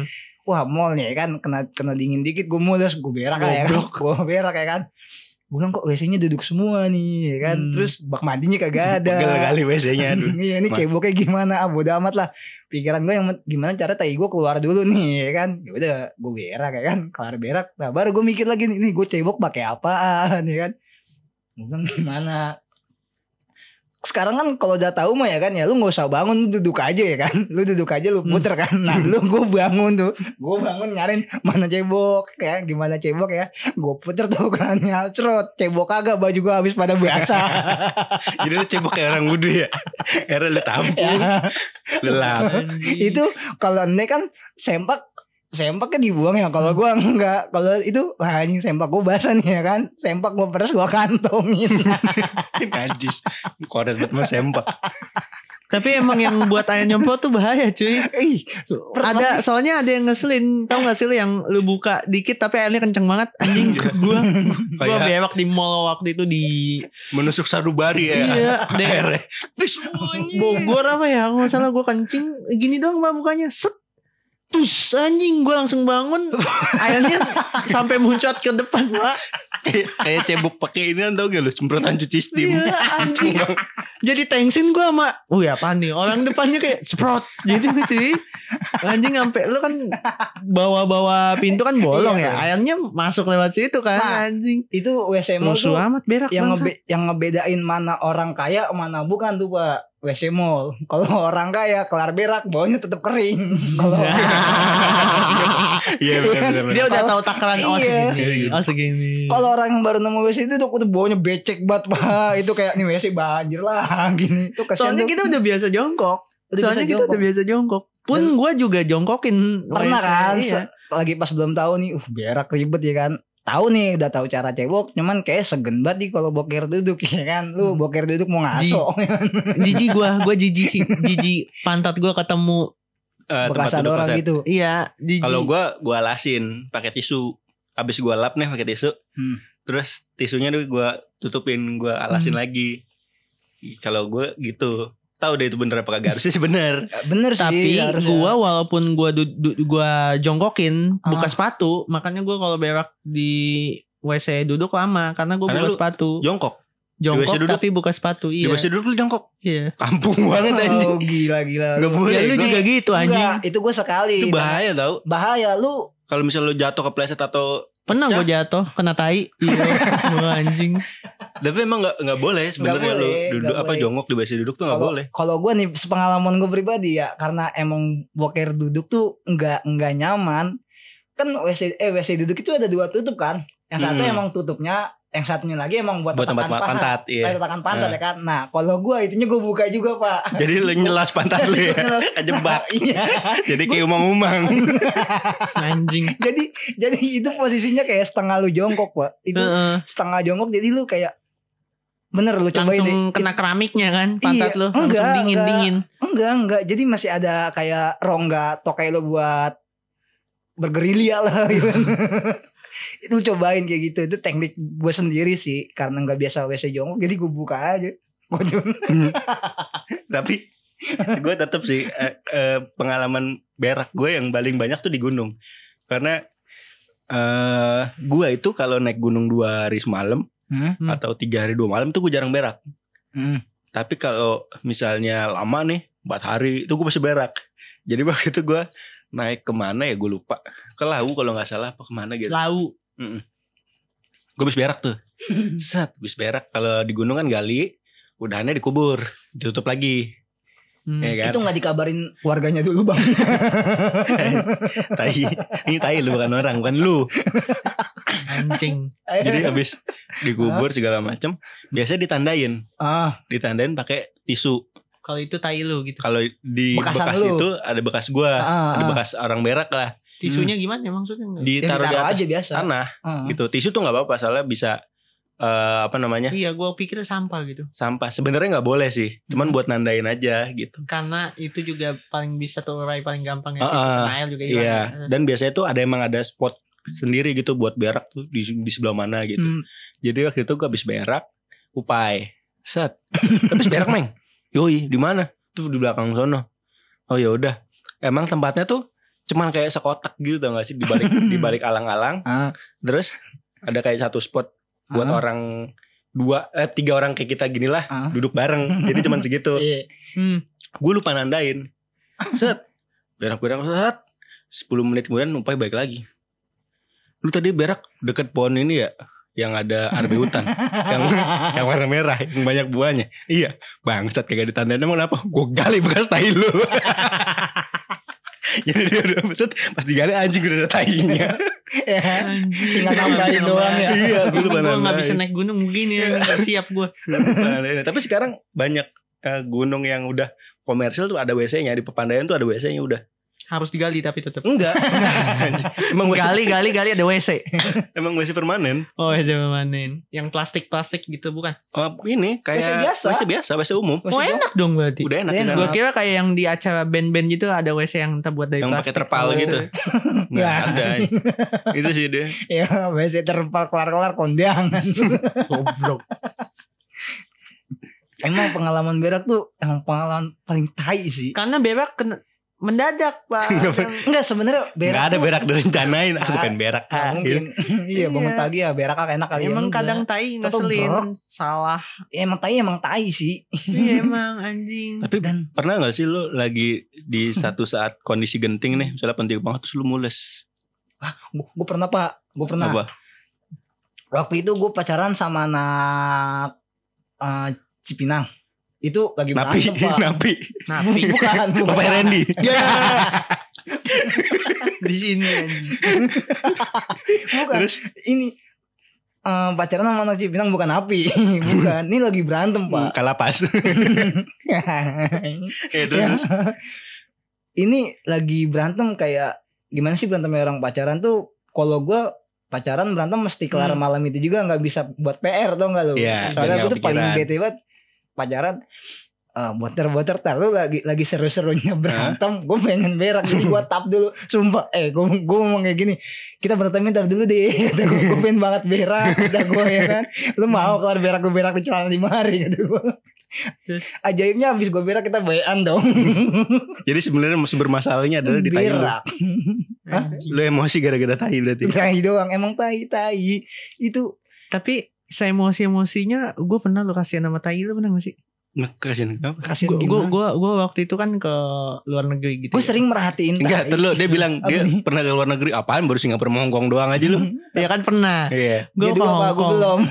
Speaker 3: wah mall nih kan kena kena dingin dikit gue mulus gue berak ya kan gue berak ya kan gue bilang kok W C-nya duduk semua nih ya kan
Speaker 2: Hmm.
Speaker 3: terus bak mandinya kagak ada
Speaker 1: Pegel kali W C-nya aduh.
Speaker 3: iya ini
Speaker 1: Ma-
Speaker 3: ceboknya gimana ah bodo amat lah pikiran gue yang gimana cara tai gue keluar dulu nih ya kan ya udah gue berak ya kan kelar berak nah baru gue mikir lagi nih, nih gue cebok pakai apaan ya kan gue bilang gimana sekarang kan kalau udah tahu mah ya kan ya lu nggak usah bangun lu duduk aja ya kan lu duduk aja lu puter kan nah lu gue bangun tuh gue bangun nyariin mana cebok ya gimana cebok ya gue puter tuh kerannya cerot cebok kagak baju gue habis pada basah
Speaker 1: Jadi lu cebok kayak orang wudhu ya. Akhirnya lu tampung,
Speaker 3: ya.
Speaker 1: lu lap.
Speaker 3: Itu kalau nek kan sempak sempaknya dibuang ya kalau gua enggak kalau itu wah anjing sempak gua basah nih ya kan sempak gua peres gua kantongin
Speaker 1: Najis. Koret banget mah sempak.
Speaker 2: Tapi emang yang buat ayam nyemprot tuh bahaya cuy.
Speaker 3: ih
Speaker 2: Ada soalnya ada yang ngeselin. Tahu gak sih lu yang lu buka dikit tapi airnya kenceng banget anjing. Gua gua
Speaker 1: Kayak-
Speaker 2: bewak di mall waktu itu di
Speaker 1: Menusuk sarubari ya.
Speaker 2: Iya, deh.
Speaker 1: Akhirnya.
Speaker 2: Bogor apa ya? Kalau nggak salah gua kencing gini doang mbak mukanya. Set. Tus anjing gue langsung bangun airnya sampai muncrat ke depan pak.
Speaker 1: Kayak kayak cebok pakai ini kan tau gak lu semprotan cuci steam.
Speaker 2: Iya anjing. Jadi tensin gue sama wih apaan nih orang depannya kayak sprot gitu cuy. Anjing sampai lu kan bawa-bawa pintu kan bolong
Speaker 3: Iya,
Speaker 2: ya. Airnya masuk lewat situ kan
Speaker 3: Nah,
Speaker 2: anjing.
Speaker 3: itu W C mall
Speaker 2: Musuh
Speaker 3: tuh
Speaker 2: amat berak
Speaker 3: yang
Speaker 2: bangsa.
Speaker 3: ngebe yang ngebedain mana orang kaya mana bukan tuh pak W C mall kalau orang kaya kelar berak baunya tetap kering kalau
Speaker 1: Iya benar benar.
Speaker 2: Dia udah tahu takaran oh
Speaker 3: Iya.
Speaker 2: segini. Oh segini.
Speaker 3: kalau orang yang baru nemu W C itu tuh udah baunya becek banget pak itu kayak nih W C banjir lah gini itu kasihan
Speaker 2: Soalnya
Speaker 3: tuh.
Speaker 2: kita udah biasa jongkok.
Speaker 3: Udah
Speaker 2: Soalnya
Speaker 3: biasa
Speaker 2: kita
Speaker 3: jongkok.
Speaker 2: udah biasa jongkok. Pun gue juga jongkokin.
Speaker 3: Pernah
Speaker 2: W C,
Speaker 3: kan
Speaker 2: iya.
Speaker 3: se- lagi pas belum tahu nih uh berak ribet ya kan tahu nih udah tahu cara cebok cuman kayak segen banget nih kalau boker duduk ya kan lu
Speaker 2: Hmm.
Speaker 3: boker duduk mau ngaso
Speaker 2: Jijik gue. Gue jijik sih. Jijik pantat gue ketemu.
Speaker 1: Eh, tempat
Speaker 3: bekas ada
Speaker 1: duduk
Speaker 3: orang
Speaker 1: kloset.
Speaker 3: gitu
Speaker 2: Iya. Jijik.
Speaker 1: Kalau gua gua alasin pakai tisu. Habis gua lap nih pakai tisu.
Speaker 3: Hmm.
Speaker 1: Terus tisunya tuh gua tutupin, gua alasin
Speaker 2: Hmm.
Speaker 1: lagi. Kalau gua gitu. Tahu deh itu bener apa kagak harusnya sih bener.
Speaker 3: bener sih
Speaker 2: Tapi
Speaker 3: harusnya.
Speaker 2: gue walaupun gue du- du- gua jongkokin buka
Speaker 3: Ah.
Speaker 2: sepatu, makanya gue kalau berak di W C duduk lama karena gue
Speaker 1: Karena
Speaker 2: buka
Speaker 1: lu
Speaker 2: sepatu.
Speaker 1: Jongkok.
Speaker 2: Jongkok
Speaker 1: W C duduk?
Speaker 2: tapi buka sepatu.
Speaker 1: Di
Speaker 2: Iya.
Speaker 1: W C duduk lu jongkok.
Speaker 2: Iya.
Speaker 1: Kampung banget anjing.
Speaker 3: oh gila gila
Speaker 1: Nggak boleh.
Speaker 2: Ya lu
Speaker 1: gua-
Speaker 2: juga gitu anjing.
Speaker 3: Enggak, itu gue sekali
Speaker 1: Itu bahaya tau.
Speaker 3: bahaya lu
Speaker 1: Kalau misalnya lu jatuh kepleset atau
Speaker 2: Pernah gue jatuh kena tai. Iya. Gua anjing.
Speaker 1: tapi emang nggak nggak boleh sebenarnya lu
Speaker 3: boleh,
Speaker 1: duduk
Speaker 3: nggak
Speaker 1: apa
Speaker 3: boleh.
Speaker 1: jongkok di W C duduk tuh nggak
Speaker 3: kalau
Speaker 1: boleh.
Speaker 3: kalau gue nih sepengalaman gue pribadi ya karena emang boker duduk tuh nggak nggak nyaman kan W C eh W C duduk itu ada dua tutup kan yang satu
Speaker 1: Hmm.
Speaker 3: emang tutupnya yang satunya lagi emang buat,
Speaker 1: Buat tempat
Speaker 3: tatakan paha.
Speaker 1: pantat, iya.
Speaker 3: Eh, tatakan pantat
Speaker 1: Nah.
Speaker 3: ya kan nah kalau gue itunya gue buka juga pak
Speaker 1: Jadi lu nyelas pantat lu ya. Kejebak.
Speaker 3: iya
Speaker 1: Jadi kayak umang-umang.
Speaker 2: Anjing.
Speaker 3: jadi jadi itu posisinya kayak setengah lu jongkok pak itu
Speaker 2: Heeh.
Speaker 3: setengah jongkok jadi lu kayak bener lu cobain deh
Speaker 2: Langsung kena keramiknya kan pantat
Speaker 3: Iya,
Speaker 2: lu langsung
Speaker 3: enggak,
Speaker 2: dingin
Speaker 3: enggak.
Speaker 2: dingin.
Speaker 3: enggak enggak jadi masih ada kayak rongga tokai lu buat bergerilya lah gitu. Itu cobain kayak gitu itu teknik gue sendiri sih karena nggak biasa W C jongkok jadi gue buka aja Gua cuma-
Speaker 1: Tapi gue tetap sih eh, eh, pengalaman berak gue yang paling banyak tuh di gunung. Karena eh gue itu kalau naik gunung dua hari semalam
Speaker 3: Hmm?
Speaker 2: Hmm.
Speaker 1: atau tiga hari dua malam tuh gue jarang berak.
Speaker 3: Hmm.
Speaker 1: Tapi kalau misalnya lama nih empat hari itu gue masih berak. Jadi waktu itu gue naik kemana ya gue lupa. Ke Lawu kalau nggak salah apa kemana gitu.
Speaker 2: Lau.
Speaker 1: Gue habis berak tuh. Set, habis berak. Kalau di gunung kan gali, udahannya dikubur, ditutup lagi.
Speaker 2: Hmm.
Speaker 1: Ya kan?
Speaker 3: Itu nggak dikabarin keluarganya dulu bang.
Speaker 1: Tai. Ini tai lu bukan orang, bukan lu.
Speaker 2: Anjing.
Speaker 1: Jadi habis dikubur segala macam, biasanya ditandain,
Speaker 3: ah
Speaker 1: ditandain pakai tisu.
Speaker 2: Kalau itu tai lu gitu.
Speaker 1: Kalau di
Speaker 3: Bekasan
Speaker 1: bekas
Speaker 3: lu.
Speaker 1: itu ada bekas gua,
Speaker 3: Ah,
Speaker 1: ada
Speaker 3: ah.
Speaker 1: bekas orang berak lah.
Speaker 2: Tisunya gimana maksudnya?
Speaker 3: Ya,
Speaker 1: Ditaruh di
Speaker 3: ditaruh
Speaker 1: atas
Speaker 3: aja biasa.
Speaker 1: tanah
Speaker 3: Ah.
Speaker 1: gitu. Tisu tuh nggak apa-apa, soalnya bisa eh, apa namanya
Speaker 2: Iya, gue pikir sampah gitu.
Speaker 1: sampah. Sebenarnya nggak boleh sih, cuman
Speaker 3: Hmm.
Speaker 1: buat nandain aja gitu.
Speaker 2: Karena itu juga paling bisa terurai paling gampang ya.
Speaker 1: Ah,
Speaker 2: Tisu
Speaker 1: ah.
Speaker 2: kena air juga hilang.
Speaker 1: Iya.
Speaker 2: ya.
Speaker 1: Dan biasanya tuh ada emang ada spot sendiri gitu buat berak tuh di, di sebelah mana gitu.
Speaker 3: Hmm.
Speaker 1: Jadi waktu itu gue habis berak, upai, set, habis berak meng, yoi di mana? Tuh di belakang sono. Oh ya udah, emang tempatnya tuh cuman kayak sekotak gitu tau gak sih, di balik di balik alang-alang.
Speaker 3: Ah.
Speaker 1: Terus ada kayak satu spot buat
Speaker 3: Ah.
Speaker 1: orang dua eh tiga orang kayak kita gini lah,
Speaker 3: Ah.
Speaker 1: duduk bareng. Jadi cuman segitu.
Speaker 3: Iya.
Speaker 2: Hmm.
Speaker 1: Gue lupa nandain. Set. Berak-berak set. sepuluh menit kemudian Upai balik lagi. Lu tadi berak deket pohon ini ya, yang ada arbe hutan, yang yang warna merah, yang banyak buahnya. Iya, bangsat kagak ditandain. Emang kenapa? Gue gali bekas tai lu. Jadi dia udah betul, pas digali anjing udah ada tainya.
Speaker 3: Ya,
Speaker 2: Anjing.
Speaker 3: tinggal nambahin doang ya.
Speaker 1: Iya, gue lupa
Speaker 2: Gue gak
Speaker 1: nandain.
Speaker 2: bisa naik gunung begini ya. Gak siap gue.
Speaker 1: Nah, tapi sekarang banyak eh, gunung yang udah komersil tuh ada W C-nya. Di Pepandayan tuh ada W C-nya udah.
Speaker 2: Harus digali tapi tetap.
Speaker 1: Enggak. Emang W C,
Speaker 2: Gali gali gali ada W C.
Speaker 1: emang W C permanen.
Speaker 2: Oh ya manin. Yang plastik-plastik gitu bukan?
Speaker 1: Oh, ini kayak
Speaker 3: W C biasa.
Speaker 1: W C biasa, W C umum.
Speaker 2: Oh enak dong berarti.
Speaker 1: Udah enak.
Speaker 3: Enak.
Speaker 1: di sana.
Speaker 2: Gue kira kayak yang di acara band-band gitu ada W C yang terbuat dari
Speaker 1: Yang pakai
Speaker 2: plastik.
Speaker 1: terpal
Speaker 2: Oh,
Speaker 1: gitu. Nggak
Speaker 3: Nggak.
Speaker 1: ada. Itu sih dia.
Speaker 3: Ya, biasanya terpal kelar-kelar kondangan.
Speaker 2: Goblok.
Speaker 3: Emang pengalaman berak tuh emang pengalaman paling tai sih.
Speaker 2: Karena berak kena mendadak pak.
Speaker 1: Nggak
Speaker 2: Yang-
Speaker 3: Enggak sebenarnya berak.
Speaker 1: Nggak ada
Speaker 3: tuh-
Speaker 1: berak direncanain. Aku
Speaker 3: Ah,
Speaker 1: pengen berak.
Speaker 3: Nggak
Speaker 1: Ah,
Speaker 3: mungkin. Iya bangun
Speaker 2: Iya.
Speaker 3: pagi ya berak ah, enak kali ya.
Speaker 2: Emang
Speaker 3: Udah.
Speaker 2: kadang tai
Speaker 3: Tetep
Speaker 2: ngeselin.
Speaker 3: berak.
Speaker 2: Salah.
Speaker 3: Ya, emang tai emang tai sih.
Speaker 2: Iya emang anjing.
Speaker 1: Tapi
Speaker 3: Dan
Speaker 1: pernah gak sih lu lagi di satu saat kondisi genting nih, misalnya penting banget terus lu mules?
Speaker 3: gue pernah pak, gue pernah.
Speaker 1: Apa?
Speaker 3: Waktu itu gue pacaran sama anak eh, Cipinang. Itu lagi
Speaker 1: Napi,
Speaker 3: berantem pak.
Speaker 1: napi.
Speaker 2: Napi.
Speaker 3: Bukan, bukan.
Speaker 1: Bapak Randy.
Speaker 3: Ya.
Speaker 2: Di sini anjing.
Speaker 3: Bukan.
Speaker 1: Terus
Speaker 3: Ini eh, pacaran sama anak Cipinang bukan api. Bukan. Ini lagi berantem pak.
Speaker 1: kalapas. Eh, terus,
Speaker 3: Ya.
Speaker 1: terus.
Speaker 3: Ini lagi berantem kayak gimana sih berantemnya orang pacaran tuh? Kalau gue pacaran berantem mesti kelar
Speaker 2: Hmm.
Speaker 3: malam itu juga, nggak bisa buat P R tau nggak lu?
Speaker 1: Iya,
Speaker 3: Soalnya
Speaker 1: biar
Speaker 3: gue tuh
Speaker 1: nggak
Speaker 3: paling
Speaker 1: kepikiran.
Speaker 3: bete banget pacaran. Uh, boter-boter tar lu lagi lagi seru-serunya berantem, gue pengen berak jadi gue tap dulu, sumpah. Eh gue gue ngomong kayak gini, kita berantem ntar dulu deh, kata gue, gue pengen banget berak, kata gue ya kan, lu mau kelar berak gue berak di celana lima hari, kata gue.
Speaker 2: Terus?
Speaker 3: Ajaibnya abis gue berak kita bayan dong.
Speaker 1: Jadi sebenarnya sumber masalahnya adalah di tai lu.
Speaker 3: Berak.
Speaker 2: Anjing.
Speaker 1: Lu emosi gara-gara tai berarti.
Speaker 3: Tai doang, emang tai tai itu.
Speaker 2: Tapi saya emosi-emosinya gue pernah lo kasihan sama tai lu pernah gak sih?
Speaker 1: Ngekasian kenapa?
Speaker 3: Kasian
Speaker 2: Gue
Speaker 3: gimana?
Speaker 2: gue gue waktu itu kan ke luar negeri gitu.
Speaker 3: Gue
Speaker 2: ya.
Speaker 3: sering merhatiin tai.
Speaker 1: Enggak, terus dia bilang
Speaker 3: Apa
Speaker 1: dia
Speaker 3: nih?
Speaker 1: pernah ke luar negeri. Apaan baru Singapura sama Hongkong doang aja lu.
Speaker 2: Ya kan pernah.
Speaker 1: Iya.
Speaker 2: Gue
Speaker 3: Jadi
Speaker 2: ke
Speaker 3: gua apa? Gua
Speaker 2: Hongkong.
Speaker 3: belum.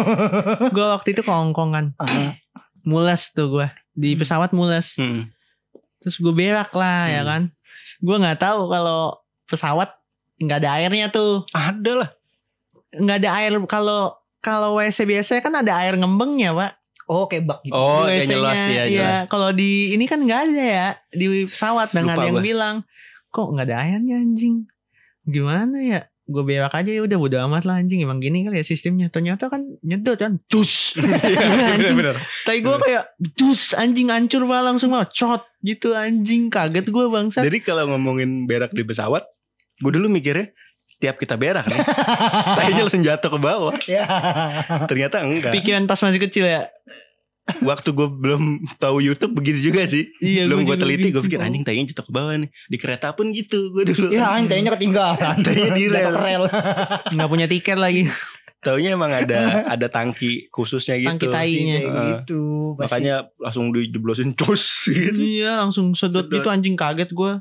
Speaker 2: Gue waktu itu ke Hongkong kan.
Speaker 3: Ah,
Speaker 2: Mules tuh gue di pesawat mules.
Speaker 1: Hmm.
Speaker 2: Terus gue berak lah ya
Speaker 1: Hmm.
Speaker 2: kan. Gue nggak tahu kalau pesawat nggak ada airnya tuh.
Speaker 1: Ada lah.
Speaker 2: Nggak ada air kalau kalau W C biasanya kan ada air ngembengnya pak.
Speaker 3: Oh kayak bak gitu.
Speaker 1: Oh,
Speaker 2: Di
Speaker 1: kayak
Speaker 2: W C-nya.
Speaker 1: jelas ya,
Speaker 2: Iya,
Speaker 1: jelas.
Speaker 2: kalau di ini kan nggak ada ya di pesawat dengan
Speaker 1: Lupa
Speaker 2: yang
Speaker 1: gua.
Speaker 2: bilang kok nggak ada airnya anjing. Gimana ya? Gue berak aja ya udah bodo amat lah anjing, emang gini kali ya sistemnya. Ternyata kan nyedot kan. Cus. anjing.
Speaker 1: Bener-bener.
Speaker 2: Tai gue kayak cus anjing hancur pak langsung mah cot gitu anjing, kaget gue bangsat.
Speaker 1: Jadi kalau ngomongin berak di pesawat, gue dulu mikirnya tiap kita berak nih, tainya langsung jatuh ke bawah.
Speaker 3: Ya.
Speaker 1: Ternyata enggak.
Speaker 2: Pikiran pas masih kecil ya.
Speaker 1: Waktu gue belum tahu YouTube begitu juga sih.
Speaker 2: Iya,
Speaker 1: belum
Speaker 2: gua
Speaker 1: gue
Speaker 2: juga
Speaker 1: teliti, gue
Speaker 2: gitu.
Speaker 1: pikir anjing tainya jatuh ke bawah nih. Di kereta pun gitu gue dulu.
Speaker 3: Ya antainya ketinggalan.
Speaker 1: Tainya di rel.
Speaker 3: Jatuh ke rel.
Speaker 2: Nggak punya tiket lagi.
Speaker 1: Taunya emang ada ada tangki khususnya gitu.
Speaker 2: Tangki tainya.
Speaker 3: Kayak
Speaker 1: Heeh.
Speaker 3: gitu. Pasti.
Speaker 1: Makanya langsung dijeblosin cus gitu.
Speaker 2: Iya langsung sedot
Speaker 1: Sedot.
Speaker 2: gitu anjing, kaget gue.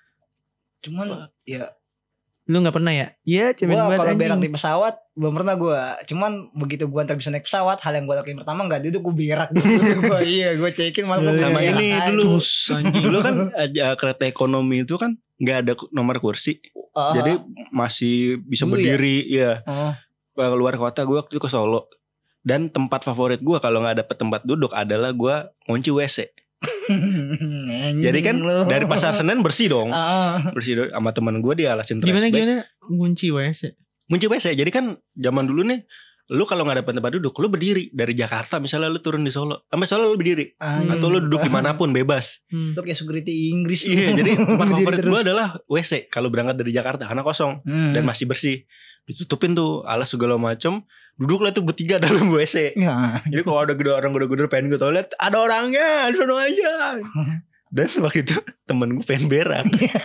Speaker 3: Cuman ya
Speaker 2: Lu nggak pernah ya? Iya cemen
Speaker 3: gua
Speaker 2: banget
Speaker 3: kalau
Speaker 2: anjing.
Speaker 3: berak di pesawat belum pernah gua. Cuman begitu gua ntar bisa naik pesawat, hal yang gua lakuin pertama enggak duduk, gua berak dulu. Gua iya gua cekin malah gua
Speaker 1: Sama
Speaker 3: berak
Speaker 1: ini
Speaker 3: aja.
Speaker 1: dulu.
Speaker 2: Cus, anjing.
Speaker 1: Dulu kan aja kereta ekonomi itu kan nggak ada nomor kursi.
Speaker 3: Ah,
Speaker 1: Jadi masih bisa
Speaker 3: Dulu ya?
Speaker 1: berdiri ya.
Speaker 3: ah.
Speaker 1: Ke luar kota gue waktu itu ke Solo. Dan tempat favorit gue kalau nggak dapet tempat duduk adalah gue ngunci W C.
Speaker 3: Anjing
Speaker 1: Jadi kan
Speaker 3: lu.
Speaker 1: dari Pasar Senen bersih dong.
Speaker 3: Ah.
Speaker 1: Bersih dong. Sama temen gue dia alasin
Speaker 2: Gimana
Speaker 1: trash bag.
Speaker 2: gimana ngunci W C?
Speaker 1: Ngunci W C. Jadi kan zaman dulu nih, lu kalau nggak dapet tempat duduk, lu berdiri dari Jakarta misalnya lu turun di Solo, sampai Solo lu berdiri,
Speaker 3: Anjing.
Speaker 1: atau lu duduk dimanapun bebas.
Speaker 2: Hmm.
Speaker 3: Lu kayak security Inggris.
Speaker 1: Iya, jadi tempat
Speaker 3: Berdiri
Speaker 1: favorit
Speaker 3: terus.
Speaker 1: gue adalah W C kalau berangkat dari Jakarta karena kosong
Speaker 3: Hmm.
Speaker 1: dan masih bersih. Ditutupin tuh alas segala macem. Duduklah tuh bertiga dalam W C.
Speaker 3: Ya.
Speaker 1: Jadi kalau ada gede orang gede-gede pengen gue toilet, ada orangnya, di sono aja. Dan waktu itu temen gue pengen berak.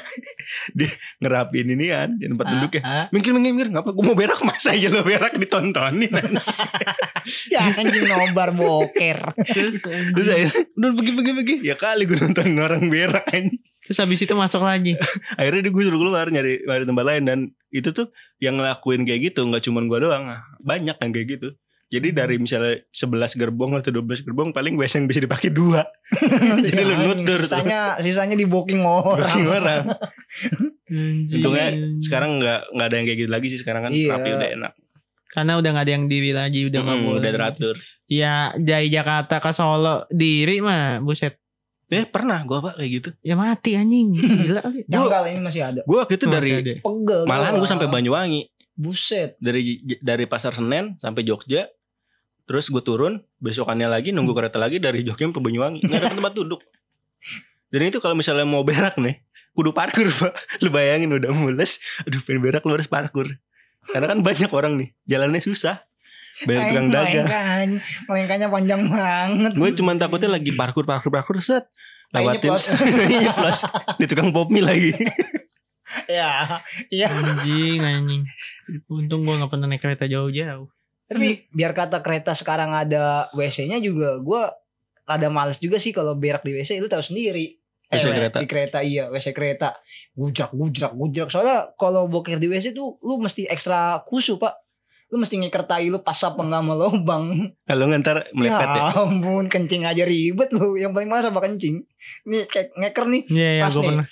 Speaker 1: Dia ngerapin inian di tempat
Speaker 3: Ah,
Speaker 1: duduknya.
Speaker 3: ah.
Speaker 1: Mikir mikir mikir ngapa gue mau berak, masa aja lo berak ditontonin.
Speaker 3: Ya anjing nobar boker.
Speaker 2: Terus,
Speaker 1: Terus akhirnya udah pergi pergi pergi. Ya kali gue nontonin orang berak anjing.
Speaker 2: terus habis itu masuk lagi.
Speaker 1: Akhirnya dia gue suruh keluar nyari, nyari tempat lain. Dan itu tuh yang ngelakuin kayak gitu gak cuma gue doang, banyak yang kayak gitu. Jadi dari misalnya sebelas gerbong atau dua belas gerbong, paling W S yang bisa dipakai dua. Jadi lu
Speaker 3: Anjing,
Speaker 1: nutur tuh.
Speaker 3: Sisanya sisanya di booking orang.
Speaker 1: Booking orang.
Speaker 2: Anjing.
Speaker 1: Untungnya sekarang gak, gak ada yang kayak gitu lagi sih. Sekarang kan
Speaker 3: Iya.
Speaker 1: rapi udah enak.
Speaker 2: Karena udah gak ada yang diri lagi, udah nggak
Speaker 1: Hmm,
Speaker 2: boleh.
Speaker 1: udah teratur.
Speaker 2: Ya dari Jakarta ke Solo diri mah buset.
Speaker 1: Eh pernah gue pak kayak gitu.
Speaker 2: Ya mati anjing. Gila kali.
Speaker 3: Janggal ini masih ada.
Speaker 1: Gue waktu itu
Speaker 2: Masih
Speaker 1: dari
Speaker 2: ada.
Speaker 3: Pegel.
Speaker 1: malahan gue
Speaker 3: gua.
Speaker 1: sampai Banyuwangi.
Speaker 3: Buset.
Speaker 1: Dari dari Pasar Senen sampai Jogja. Terus gue turun, besokannya lagi nunggu kereta lagi dari Jogja ke Banyuwangi. Nggak ada tempat duduk. Dan itu kalau misalnya mau berak nih, kudu parkur pak. Lu bayangin udah mules, aduh pengen berak lu harus parkur. Karena kan banyak orang nih, jalannya susah. Banyak tukang dagang.
Speaker 3: Melengkanya, melengkanya panjang banget.
Speaker 1: Gue cuma takutnya lagi parkur parkur parkur set.
Speaker 3: Kayaknya
Speaker 1: Lewatin
Speaker 3: plus.
Speaker 1: Iya, plus. Di tukang pop mie lagi.
Speaker 3: Ya, iya.
Speaker 2: Anjing anjing. Untung gue gak pernah naik kereta jauh-jauh.
Speaker 3: Tapi biar kata kereta sekarang ada W C-nya juga, gue rada males juga sih kalau berak di W C. Lu tahu sendiri.
Speaker 1: W C
Speaker 3: Eh,
Speaker 1: kereta.
Speaker 3: Di kereta iya, W C kereta. Gujrak, gujrak, gujrak. Soalnya kalau boker di W C tuh lu mesti ekstra khusyuk pak. Lu mesti ngeker tai lu pas apa nggak sama lubang.
Speaker 1: Kalau ngantar melepet ya.
Speaker 3: Ya ampun, kencing aja ribet lu. Yang paling males apa kencing. Nih kayak ngeker nih.
Speaker 2: Iya ya
Speaker 3: Pas
Speaker 2: gue
Speaker 3: nih.
Speaker 2: pernah.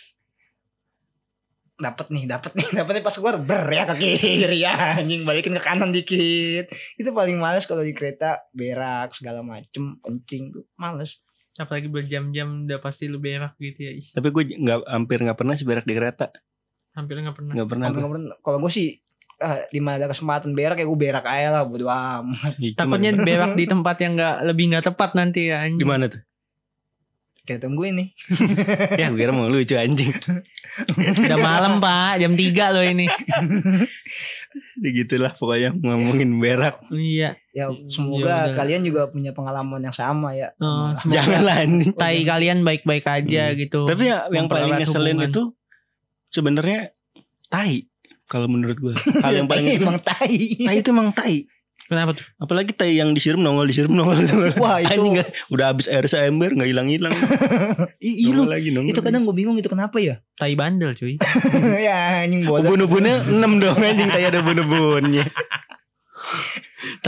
Speaker 3: Dapat nih, dapat nih, dapat nih pas keluar ber ya ke kiri ya anjing, balikin ke kanan dikit. Itu paling males kalau di kereta berak segala macem, kencing tuh males.
Speaker 2: Apalagi berjam-jam udah pasti lu berak gitu ya. Ih,
Speaker 1: Tapi gue nggak hampir nggak pernah sih berak di kereta.
Speaker 2: hampir gak pernah.
Speaker 1: Nggak pernah.
Speaker 3: Nah,
Speaker 1: gue.
Speaker 3: kalau gue sih ah, di mana ada kesempatan berak ya gue berak aja lah, bodo amat.
Speaker 1: Ih,
Speaker 2: Takutnya
Speaker 1: cuman-
Speaker 2: berak di tempat yang gak, lebih gak tepat nanti ya anjing.
Speaker 1: di mana tuh?
Speaker 3: Kita tungguin nih.
Speaker 1: Ya gue kira mau lucu anjing.
Speaker 2: Udah malam pak, jam tiga loh ini.
Speaker 1: Begitulah pokoknya ngomongin berak.
Speaker 2: Iya.
Speaker 3: Ya
Speaker 2: Ya
Speaker 3: semoga
Speaker 2: udah.
Speaker 3: kalian juga punya pengalaman yang sama ya.
Speaker 2: Oh,
Speaker 3: Sama-
Speaker 2: semoga
Speaker 1: Janganlah anjing.
Speaker 2: tai kalian baik-baik aja
Speaker 1: Hmm.
Speaker 2: gitu.
Speaker 1: Tapi ya, yang paling
Speaker 2: Mempererat
Speaker 1: ngeselin
Speaker 2: hubungan.
Speaker 1: itu sebenarnya tai. Kalau menurut gue, hal yang paling
Speaker 3: Tai
Speaker 1: ngeselin,
Speaker 3: emang tai.
Speaker 1: tai itu emang tai.
Speaker 2: Kenapa tuh?
Speaker 1: Apalagi tai yang disiram nongol disiram nongol.
Speaker 3: Wah itu,
Speaker 1: Anjing nggak- udah habis air seember nggak hilang hilang.
Speaker 3: i- lu,
Speaker 1: lagi nongol.
Speaker 3: itu kadang gue bingung itu kenapa ya?
Speaker 2: Tai bandel cuy.
Speaker 3: Ya anjing bodoh.
Speaker 1: Ubun-ubunnya enam dong anjing, tai ada ubun-ubunnya.